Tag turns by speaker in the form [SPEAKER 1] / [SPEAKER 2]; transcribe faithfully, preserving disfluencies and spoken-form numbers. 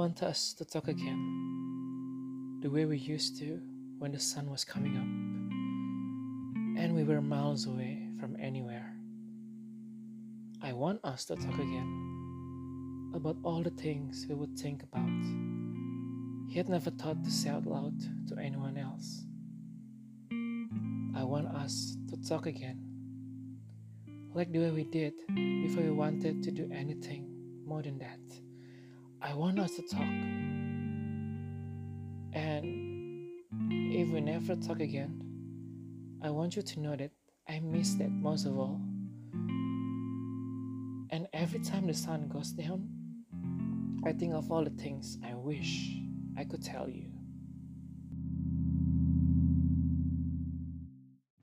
[SPEAKER 1] want us to talk again, the way we used to when the sun was coming up and we were miles away from anywhere. I want us to talk again about all the things we would think about, yet never thought to say out loud to anyone else. I want us to talk again, like the way we did before we wanted to do anything more than that. I want us to talk, and if we never talk again, I want you to know that I miss that most of all. And every time the sun goes down, I think of all the things I wish I could tell you.